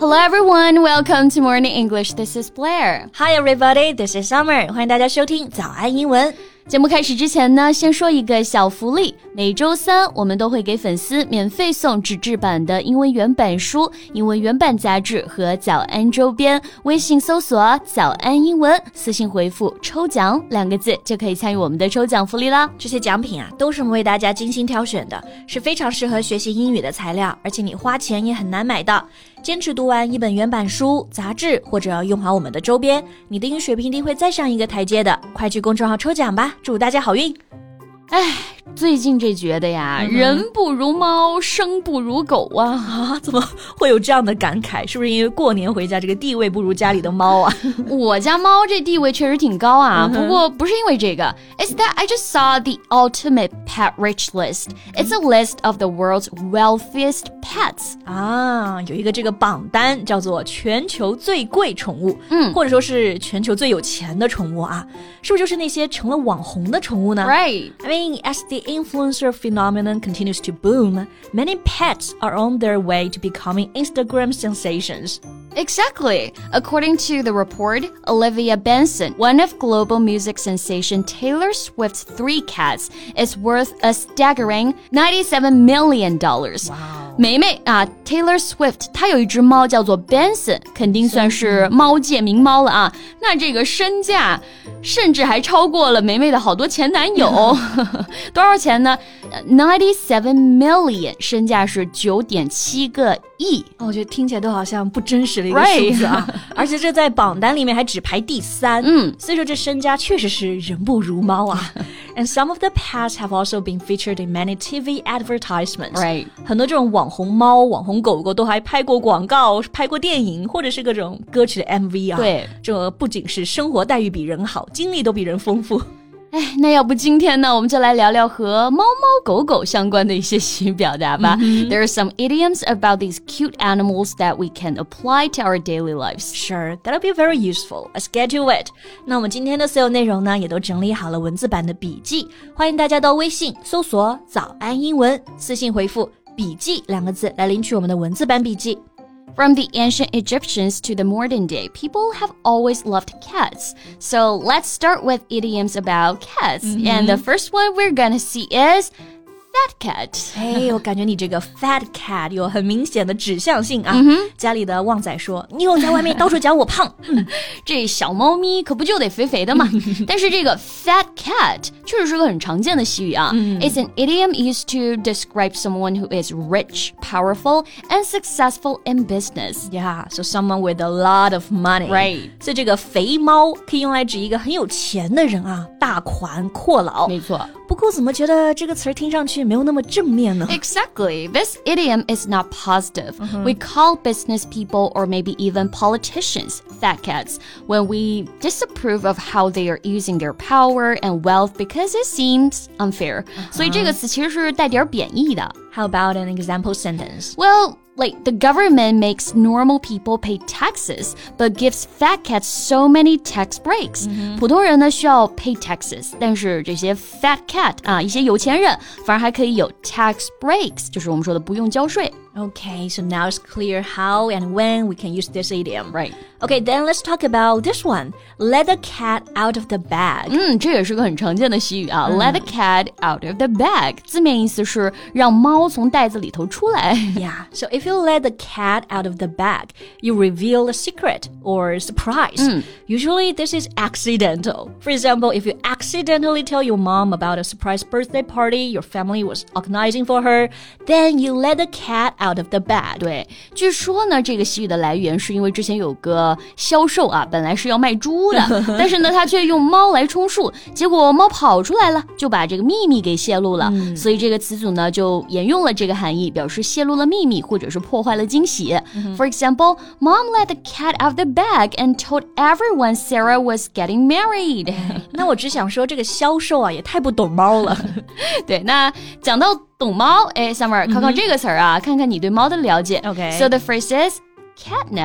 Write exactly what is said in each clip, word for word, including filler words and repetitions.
Hello everyone, welcome to Morning English. This is Blair. Hi everybody, this is Summer. 欢迎大家收听早安英文。 节目开始之前呢，先说一个小福利。每周三我们都会给粉丝免费送纸质版的英文原版书、英文原版杂志和早安周边。微信搜索早安英文，私信回复抽奖两个字就可以参与我们的抽奖福利啦。 这些奖品啊，都是我们为大家精心挑选的，是非常适合学习英语的材料，而且你花钱也很难买到。坚持读完一本原版书、杂志，或者用好我们的周边，你的英语水平一定会再上一个台阶的。快去公众号抽奖吧，祝大家好运！ 哎，最近这觉得呀、嗯、人不如猫，生不如狗啊！ 啊，怎么会有这样的感慨？是不是因为过年回家这个地位不如家里的猫啊？ 我家猫这地位确实挺高啊，不过不是因为这个。It's that I just saw the ultimate pet rich list. It's a list of the world's wealthiest pets. 啊，有一个这个榜单叫做全球最贵宠物， 嗯， 或者说是全球最有钱的宠物啊，是不是就是那些成了网红的宠物呢？ Right. I mean, as the influencer phenomenon continues to boom, many pets are on their way to becoming Instagram sensations. Exactly. According to the report, Olivia Benson, one of global music sensation Taylor Swift's three cats, is worth a staggering ninety-seven million dollars. Wow. 梅梅啊 Taylor Swift 她有一只猫叫做 Benson， 肯定算是猫界名猫了啊。那这个身价甚至还超过了梅梅的好多前男友。多少钱呢 ？ninety-seven million， 身价是九点七个亿。 哦，我觉得听起来都好像不真实的一个数字啊。Right. 而且这在榜单里面还只排第三。 嗯， 所以说这身家确实是人不如猫啊。And some of the pets have also been featured in many T V advertisements. Right. 很多这种网红猫、网红狗狗都还拍过广告、拍过电影，或者是各种歌曲的 M V 啊。 对， 这不仅是生活待遇比人好，经历都比人丰富。 哎，那要不今天呢，我们就来聊聊和猫猫狗狗相关的一些习语表达吧。Mm-hmm. There are some idioms about these cute animals that we can apply to our daily lives. Sure, that'll be very useful. Let's get to it. 那我们今天的所有内容呢，也都整理好了文字版的笔记，欢迎大家到微信搜索早安英文，私信回复笔记两个字来领取我们的文字版笔记。 From the ancient Egyptians to the modern day, people have always loved cats. So let's start with idioms about cats. Mm-hmm. And the first one we're gonna see is fat cat. 哎，我感觉你这个 fat cat 有很明显的指向性啊。 嗯、 家里的旺仔说，你又在外面到处讲我胖。嗯、 这小猫咪可不就得肥肥的嘛。但是这个 fat cat 确实是个很常见的习语啊。嗯、It's an idiom used to describe someone who is rich, powerful, and successful in business. Yeah, so someone with a lot of money. Right. 所以这个肥猫可以用来指一个很有钱的人啊，大款阔佬。 没错。 不过怎么觉得这个词儿听上去没有那么正面呢？ Exactly. This idiom is not positive. Mm-hmm. We call business people or maybe even politicians fat cats when we disapprove of how they are using their power and wealth because it seems unfair. Uh-huh. 所以这个词其实是带点贬义的。 How about an example sentence? Well, like the government makes normal people pay taxes, but gives fat cats so many tax breaks. Mm-hmm. 普通人呢需要 pay taxes, 但是这些 fat cat 啊，一些有钱人反而还可以有 tax breaks, 就是我们说的不用交税。 Okay, so now it's clear how and when we can use this idiom. Right. Okay, then let's talk about this one. Let the cat out of the bag. 嗯，这也是个很常见的习语啊。嗯、Let the cat out of the bag. 字面意思是让猫从袋子里头出来。 Yeah, so if you let the cat out of the bag, you reveal a secret or surprise. 嗯 Usually this is accidental. For example, if you accidentally tell your mom about a surprise birthday party your family was organizing for her, then you let the cat out of the bag. 对，据说呢，这个习语的来源是因为之前有个销售啊，本来是要卖猪的，但是呢，他却用猫来充数，结果猫跑出来了，就把这个秘密给泄露了。嗯、所以这个词组呢，就沿用了这个含义，表示泄露了秘密或者是破坏了惊喜。嗯、For example, Mom let the cat out of the bag and told everyone Sarah was getting married. 那我只想说，这个销售啊，也太不懂猫了。 对，那讲到懂猫，哎 ，Summer， 考考这个词儿啊，看看你对猫的了解。 Okay. So the phrase is catnap.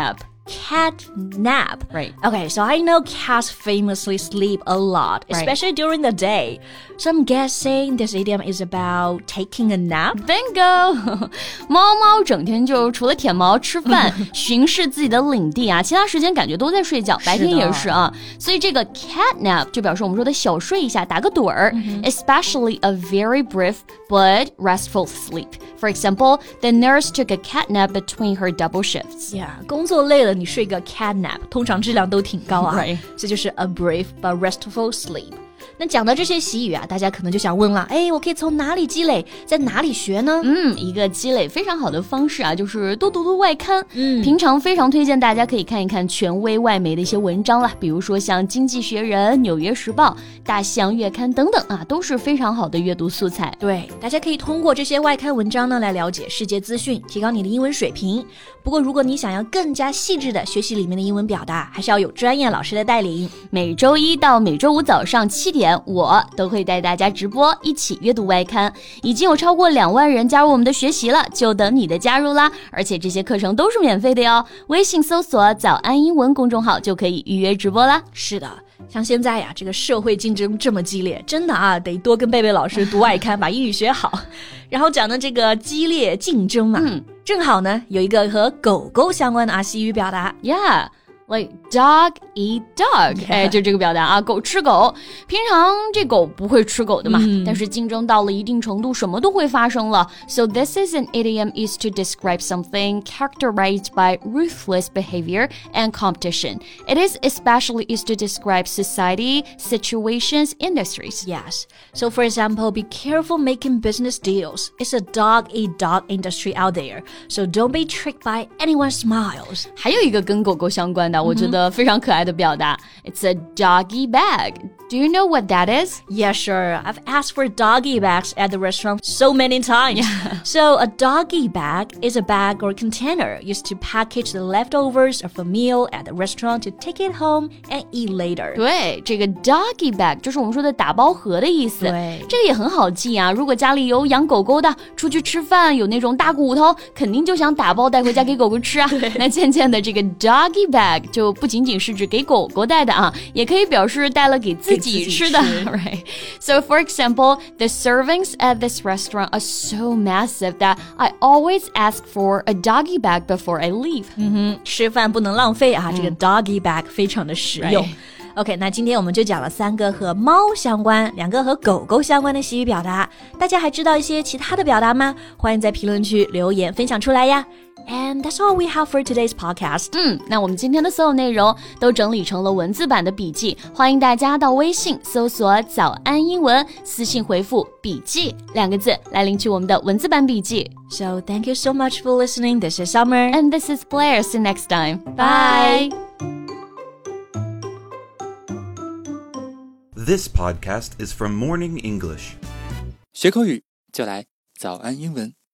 cat nap. Right. Okay, so I know cats famously sleep a lot, especially right. during the day. So I'm guessing this idiom is about taking a nap. Bingo! 猫猫整天就除了舔毛、吃饭、巡视自己的领地啊，其他时间感觉都在睡觉，白天也是啊。所以这个 cat nap 就表示我们说的小睡一下，打个盹儿、mm-hmm. especially a very brief but restful sleep. For example, the nurse took a cat nap between her double shifts. Yeah, 工作累了，你睡个 cat nap， 通常质量都挺高啊。 Right. 这就是 a brief but restful sleep. 那讲到这些习语啊，大家可能就想问了，哎，我可以从哪里积累，在哪里学呢？ 嗯，一个积累非常好的方式啊，就是多读读外刊。 嗯， 平常非常推荐大家可以看一看权威外媒的一些文章啦，比如说像《经济学人》、《纽约时报》、《大西洋月刊》等等啊，都是非常好的阅读素材。 对，大家可以通过这些外刊文章呢，来了解世界资讯，提高你的英文水平。不过，如果你想要更加细致的学习里面的英文表达，还是要有专业老师的带领。 每周一到每周五早上七点，我都会带大家直播一起阅读外刊，已经有超过两万人加入我们的学习了，就等你的加入啦！而且这些课程都是免费的哟，微信搜索早安英文公众号就可以预约直播啦。 是的，像现在呀，这个社会竞争这么激烈，真的啊，得多跟贝贝老师读外刊，把英语学好。然后讲的这个激烈竞争嘛， 嗯， 正好呢有一个和狗狗相关的啊西语表达 ，Yeah。Like dog eat dog， 哎，就这个表达啊，狗吃狗。平常这狗不会吃狗的嘛，嗯、但是竞争到了一定程度，什么都会发生了。So this is an idiom used to describe something characterized by ruthless behavior and competition. It is especially used to describe society, situations, industries. Yes. So for example, be careful making business deals. It's a dog-eat-dog industry out there. So don't be tricked by anyone's smiles. 还有一个跟狗狗相关的，我觉得非常可爱的表达 It's a doggy bag. Do you know what that is? Yeah, sure. I've asked for doggy bags at the restaurant so many times. Yeah. So a doggy bag is a bag or container used to package the leftovers of a meal at the restaurant to take it home and eat later. 对，这个 doggy bag 就是我们说的打包盒的意思。 对， 这个也很好记啊。如果家里有养狗狗的，出去吃饭有那种大骨头，肯定就想打包带回家给狗狗吃啊。那渐渐的，这个 doggy bag 就不仅仅是指给狗狗带的啊，也可以表示带了给自己吃的。Right. So for example, the servings at this restaurant are so massive that I always ask for a doggy bag before I leave. 嗯哼，吃饭不能浪费啊，这个 doggy bag 非常的实用。 Right. OK， 那今天我们就讲了三个和猫相关，两个和狗狗相关的习语表达。大家还知道一些其他的表达吗？欢迎在评论区留言分享出来呀。And that's all we have for today's podcast. 嗯，那我们今天的所有内容都整理成了文字版的笔记，欢迎大家到微信搜索早安英文，私信回复笔记两个字来领取我们的文字版笔记。 So thank you so much for listening. This is Summer. And this is Blair. See you next time. Bye. This podcast is from Morning English. 学口语就来早安英文。